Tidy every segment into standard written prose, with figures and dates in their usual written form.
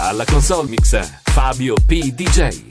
Alla console mixa Fabio P. DJ.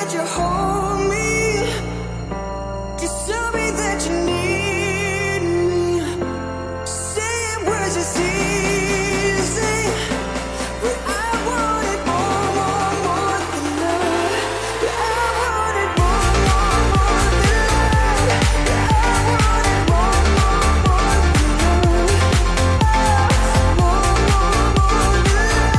that you hold me. Just tell me that you need me. Saying words is easy, but I want it more, more, more than love. I want it more, more, more than love. I want it more, more, more than love. More, more, more than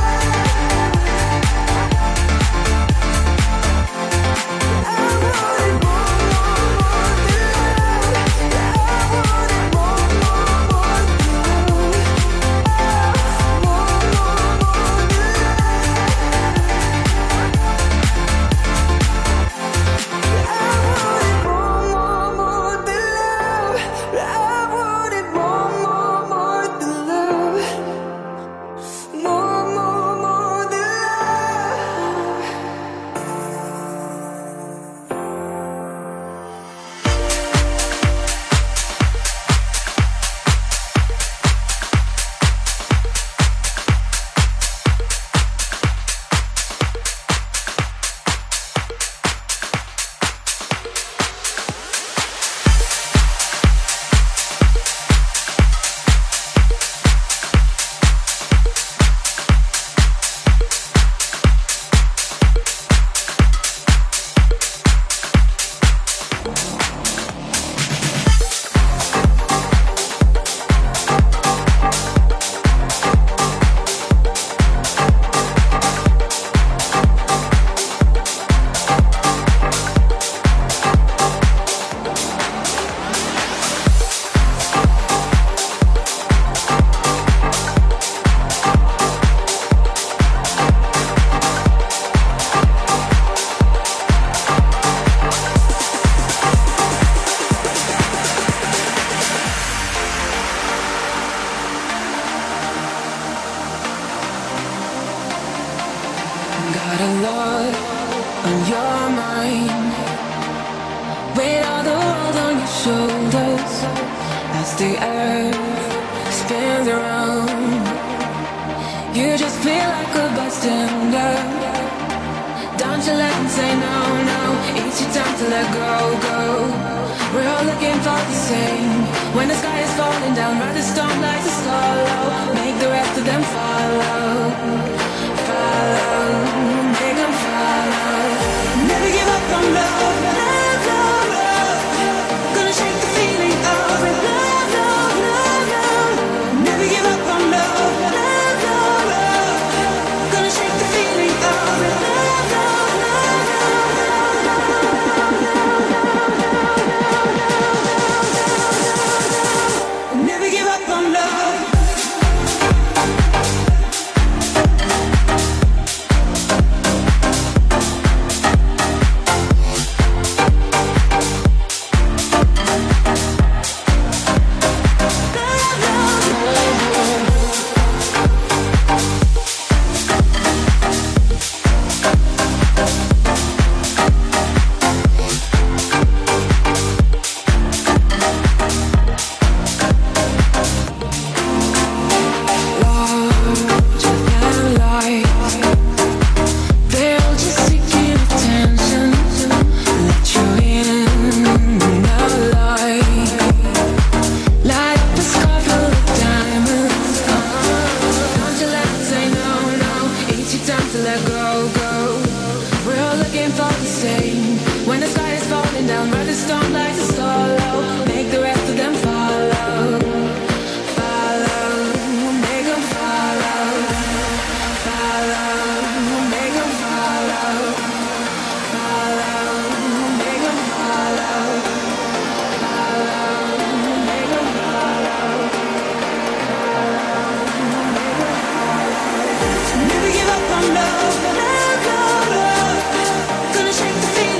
Got a lot on your mind. Weight of the world on your shoulders as the earth spins around. You just feel like a bystander. Don't you let them say no, no. It's your time to let go, go. We're all looking for the same. When the sky is falling down, ride the storm like a swallow. Make the rest of them follow. Make them follow. Never give up on love, love, love, love. Gonna shake the feeling of it. Love, love, love, love. Never give up on love, love, love, love. Gonna shake the feeling of it. Love, love, love, love. Never give up on love. Never give up on love, love, love, love. Gonna shake the feeling.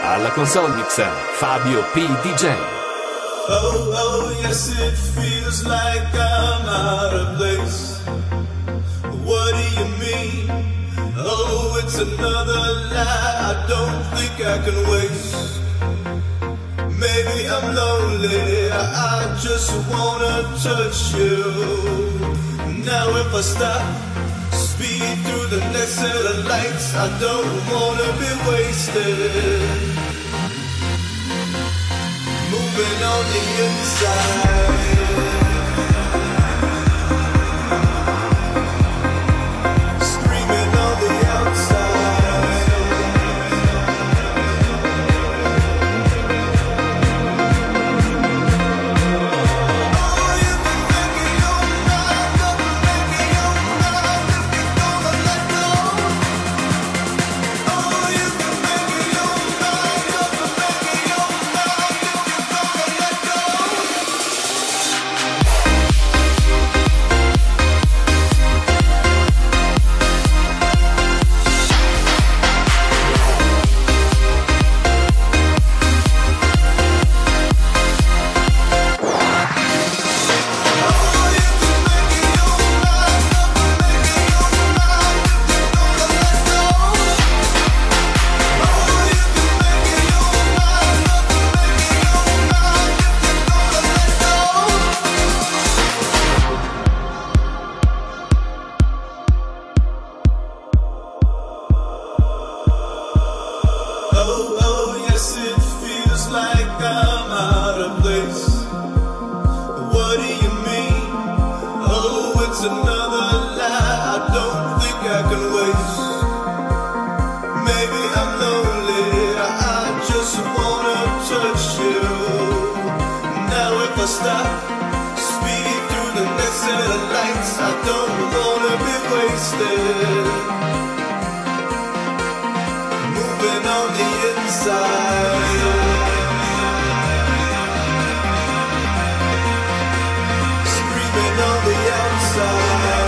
Alla console mixa Fabio P. DJ. Oh, oh, yes, it feels like I'm out of place. What do you mean? Oh, it's another lie I don't think I can waste. Maybe I'm lonely, I just wanna touch you. Now if I stop, speed through the next set of lights, I don't wanna be wasted. Moving on the inside, screaming on the outside. Oh, you can make it your mind, you can make it your mind if you're gonna let go. Oh, you can make it your mind, you can make it your mind if you're gonna let go. Oh, oh, yes, it feels like I'm out of place. What do you mean? Oh, it's another lie I don't think I can waste. Maybe I'm lonely, I just wanna touch you. Now if I stop, speed through the next set of lights, I don't wanna be wasted. Moving on the inside, screaming on the outside.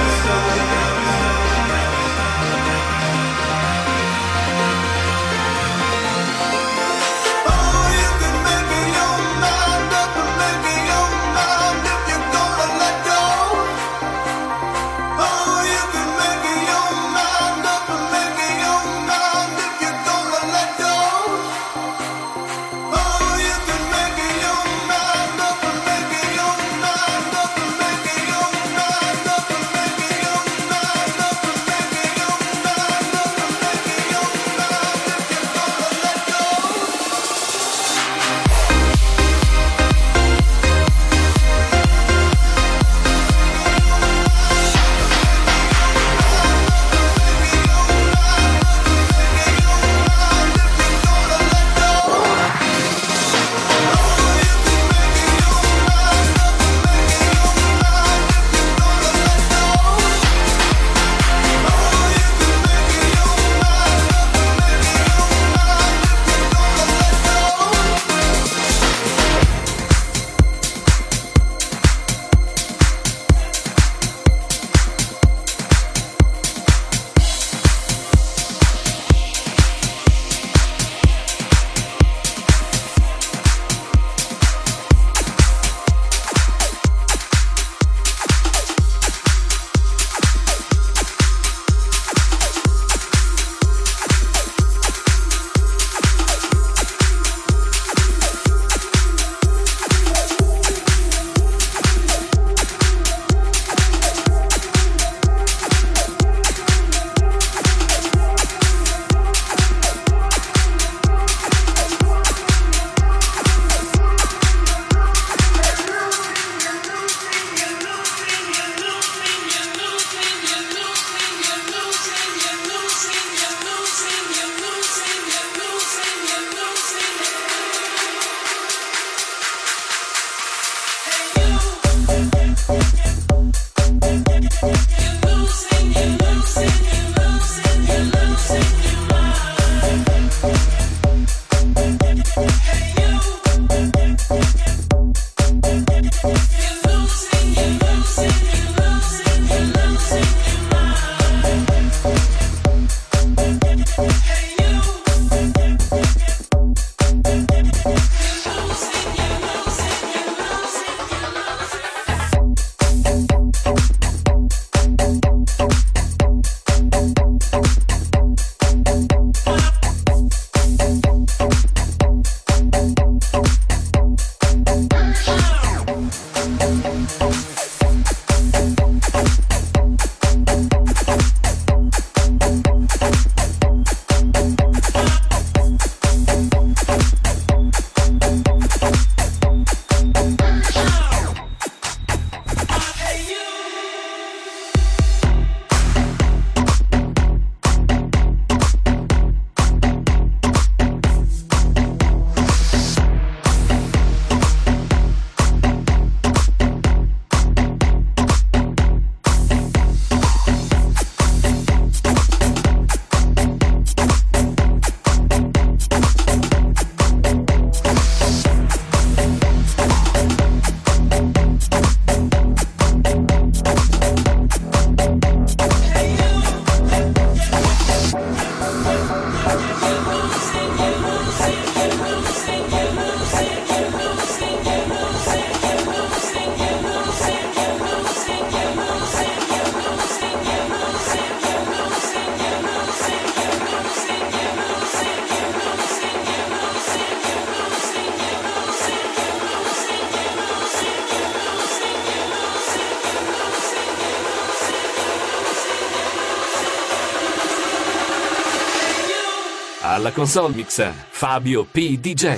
alla console mix Fabio P. DJ.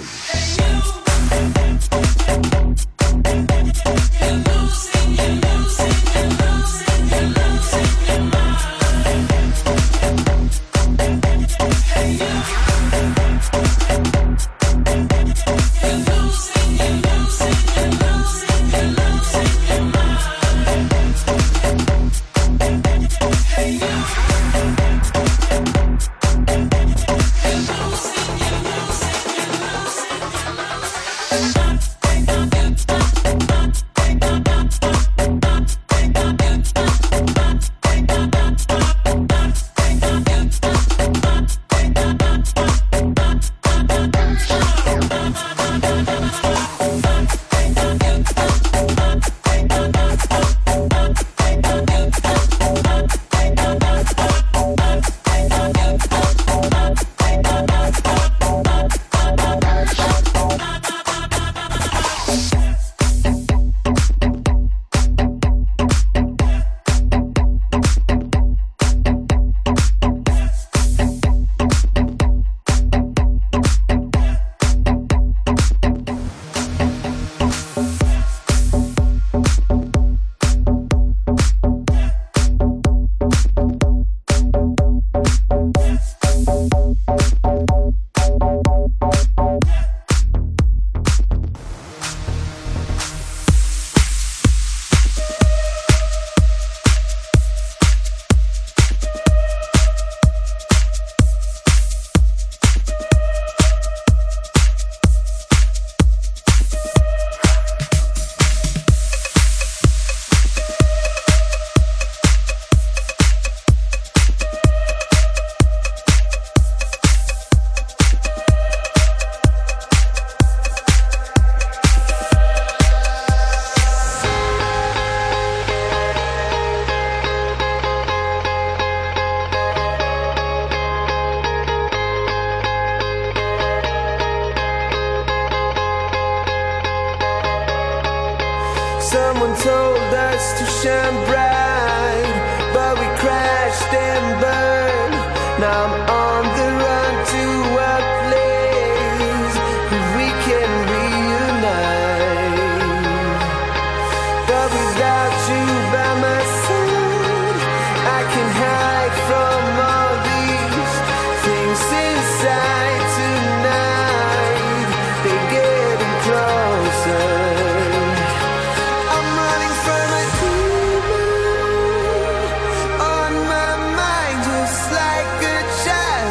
Someone told us to shine bright, but we crashed and burned. Now I'm on the run to a place where we can reunite. But without you by my side, I can hide from all these things inside tonight. They're getting closer. Child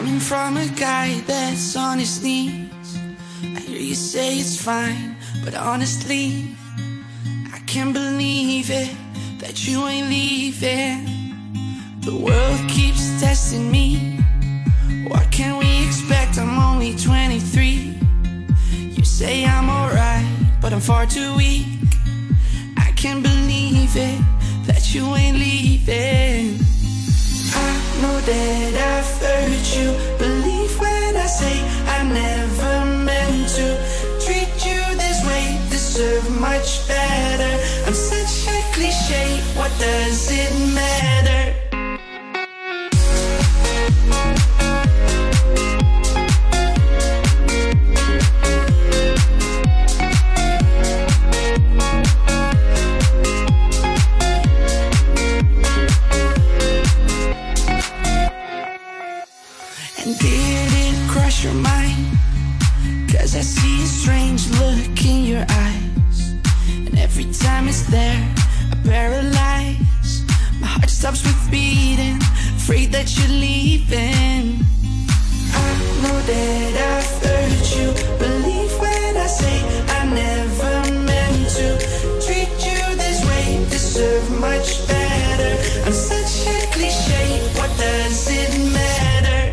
Coming from a guy that's on his knees, I hear you say it's fine, but honestly, I can't believe it, that you ain't leaving. The world keeps testing me. What can we expect? I'm only 23. You say I'm alright, but I'm far too weak. I can't believe it, that you ain't leaving. I know that I've hurt you. Believe when I say I never meant to treat you this way. Deserve much better. I'm such a cliche. What does it matter? And did it cross your mind? 'Cause I see a strange look in your eyes, and every time it's there, I paralyze. My heart stops with beating, afraid that you're leaving. I know that I've hurt you. Believe when I say I never meant to treat you this way. Deserve much better. I'm such a cliche. What does it matter?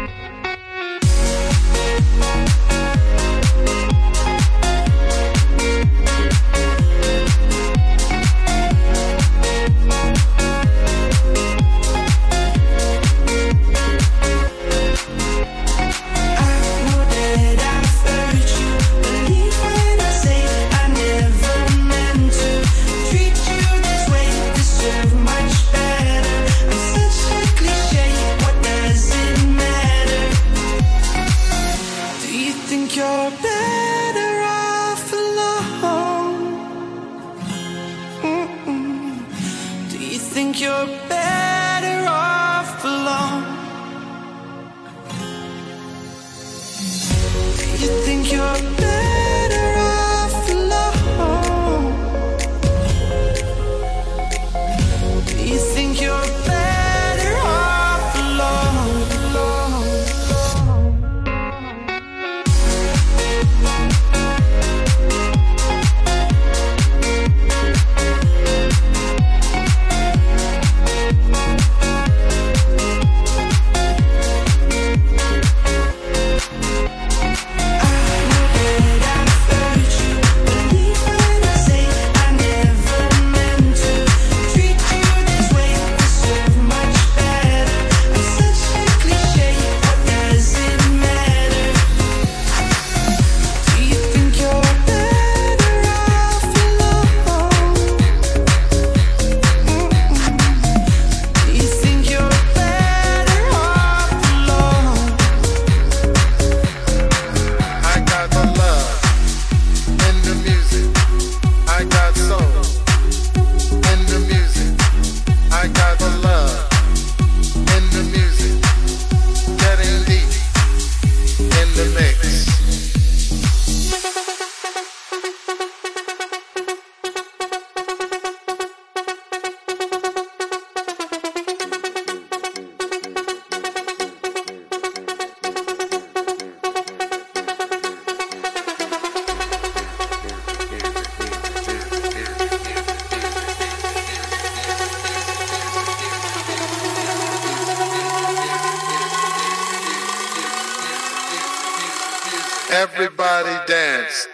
Everybody dance.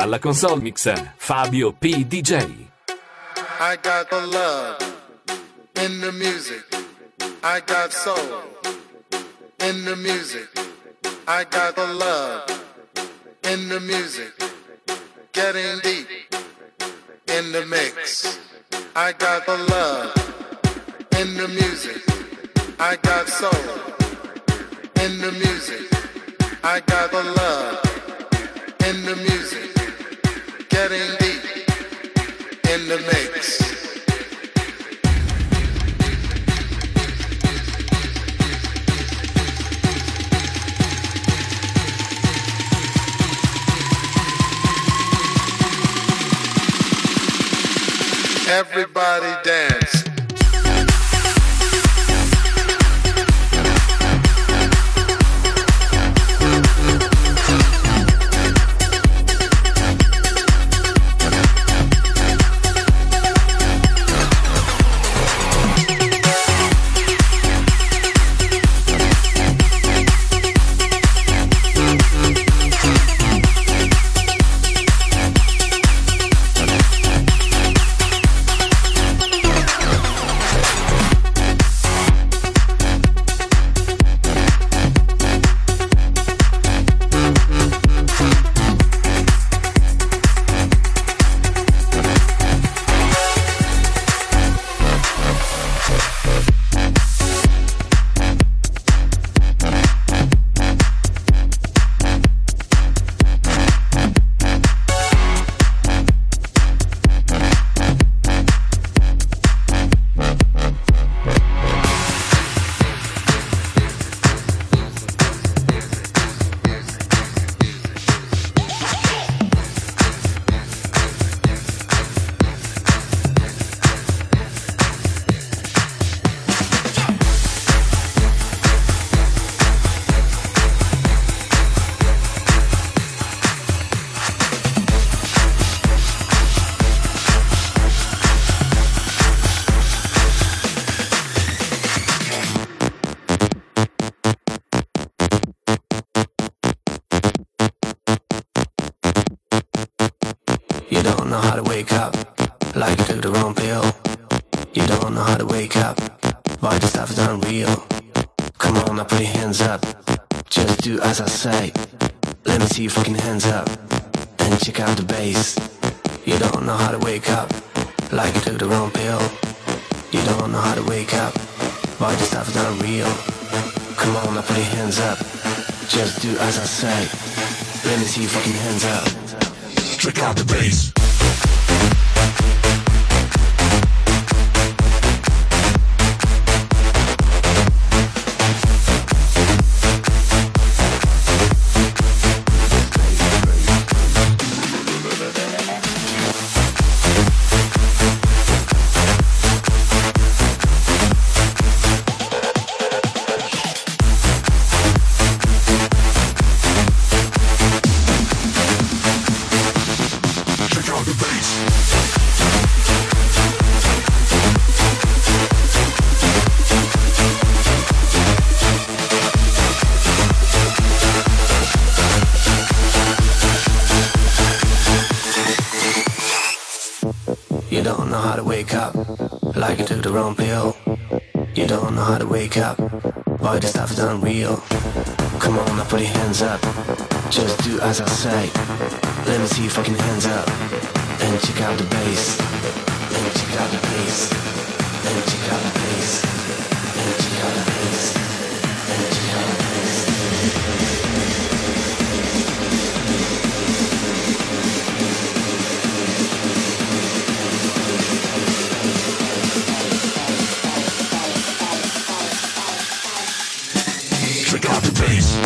Alla console mixa Fabio P. DJ. I got the love in the music. I got soul in the music. I got the love in the music. Getting deep in the mix. I got the love in the music. I got soul in the music. I got the love in the music. Getting deep in the mix. Everybody dance. Boy, this stuff is unreal. Come on, now put your hands up. Just do as I say. Let me see your fucking hands up. And check out the bass. And check out the bass. And check out the bass. And check out the bass. And check out the bass. Check out the bass.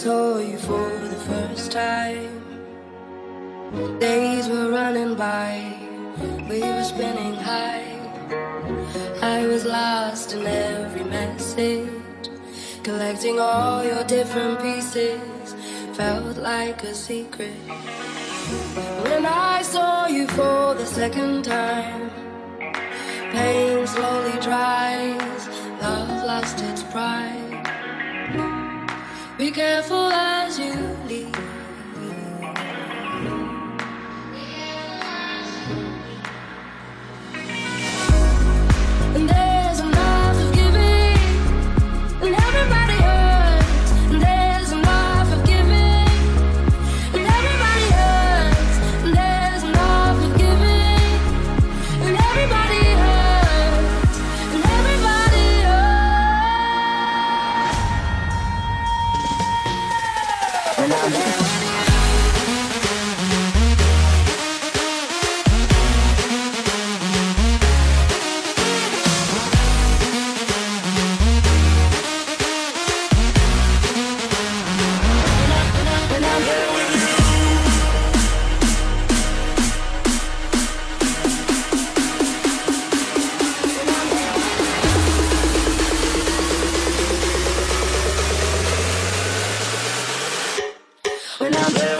saw you for the first time, days were running by, we were spinning high. I was lost in every message, collecting all your different pieces, felt like a secret. When I saw you for the second time, pain slowly dries, love lost its pride. Be careful as you leave. And there's enough of giving, and everybody hurts. And there's enough of giving, and everybody hurts. And there's enough of giving, and everybody hurts. And everybody hurts. When I'm there. When I'm there.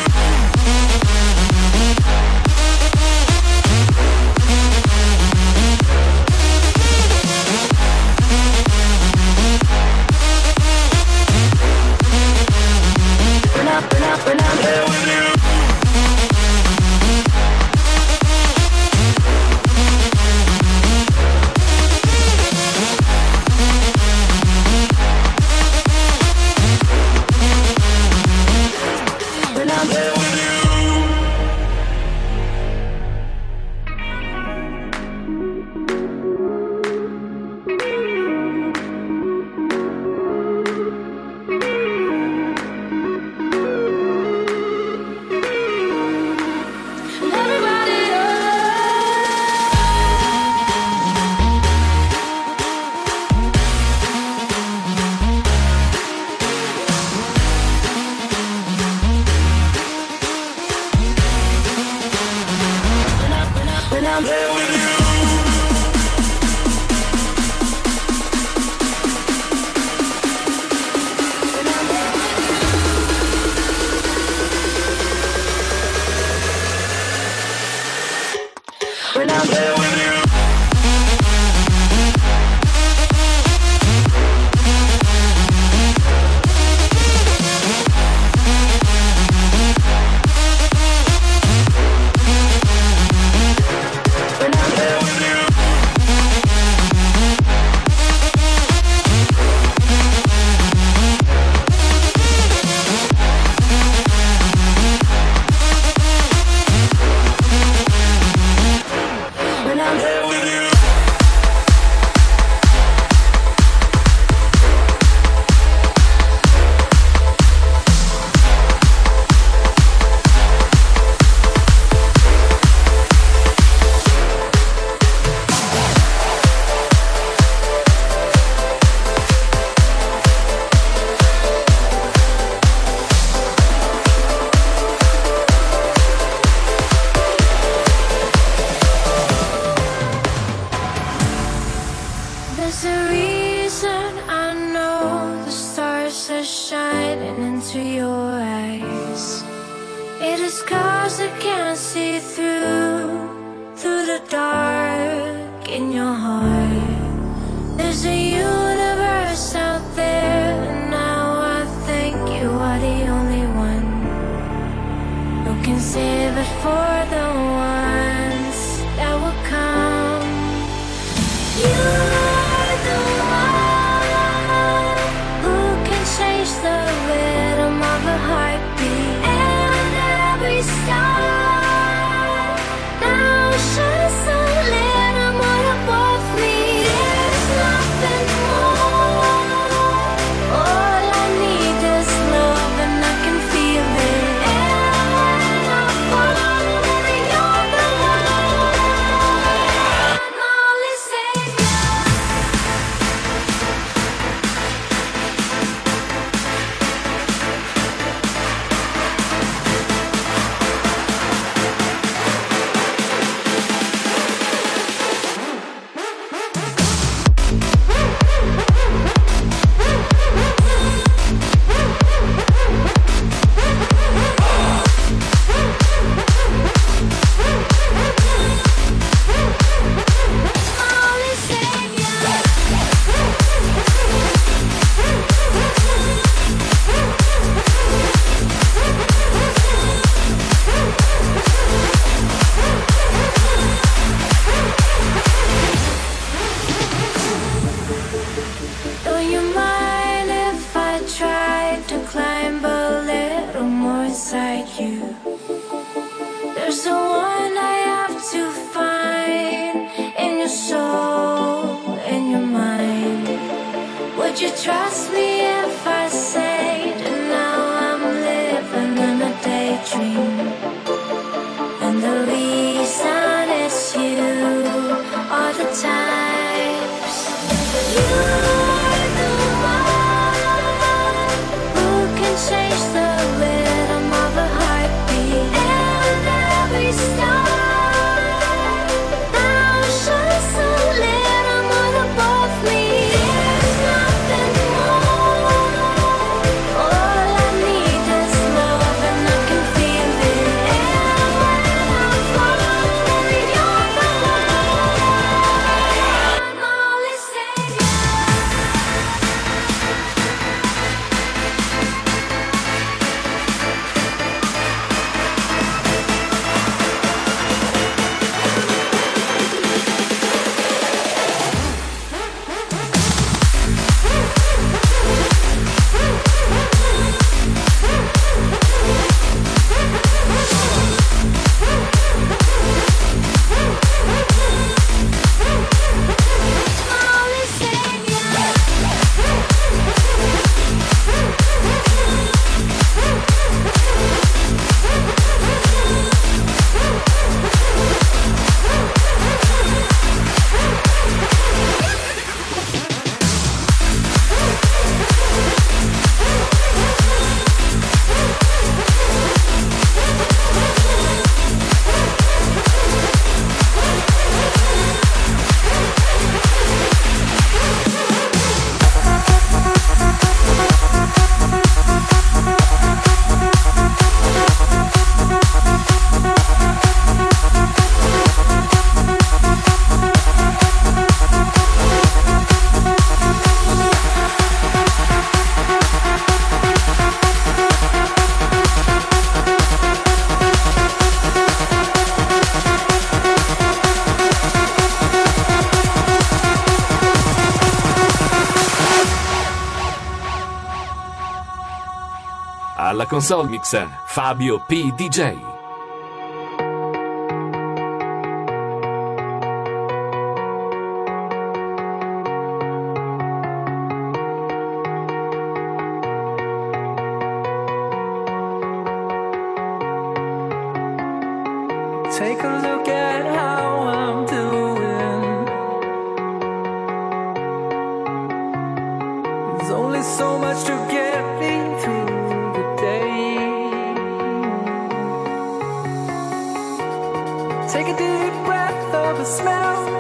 There's a reason I know the stars are shining into your eyes. It is 'cause I can't see through the dark in your heart. There's a universe out there, and now I think you are the only one who can save it for the ones that will come. You are the one who can change the rhythm of a heartbeat, and every star now shines so lit. I'm what above me. There's nothing inside you. There's the one I have to find in your soul, in your mind. Would you trust me if I say that now I'm living in a daydream? And the reason is you all the times. You are the one who can change the rhythm of a heartbeat. And every star now shines a little more above me. There's nothing more. All I need is love, and I can feel it. And when I'm falling, you're the one. I'm only savior. Only savior. Alla console mix Fabio P. DJ. Take a look at how I'm doing. There's only so much to get me through the day. Take a deep breath of a smell.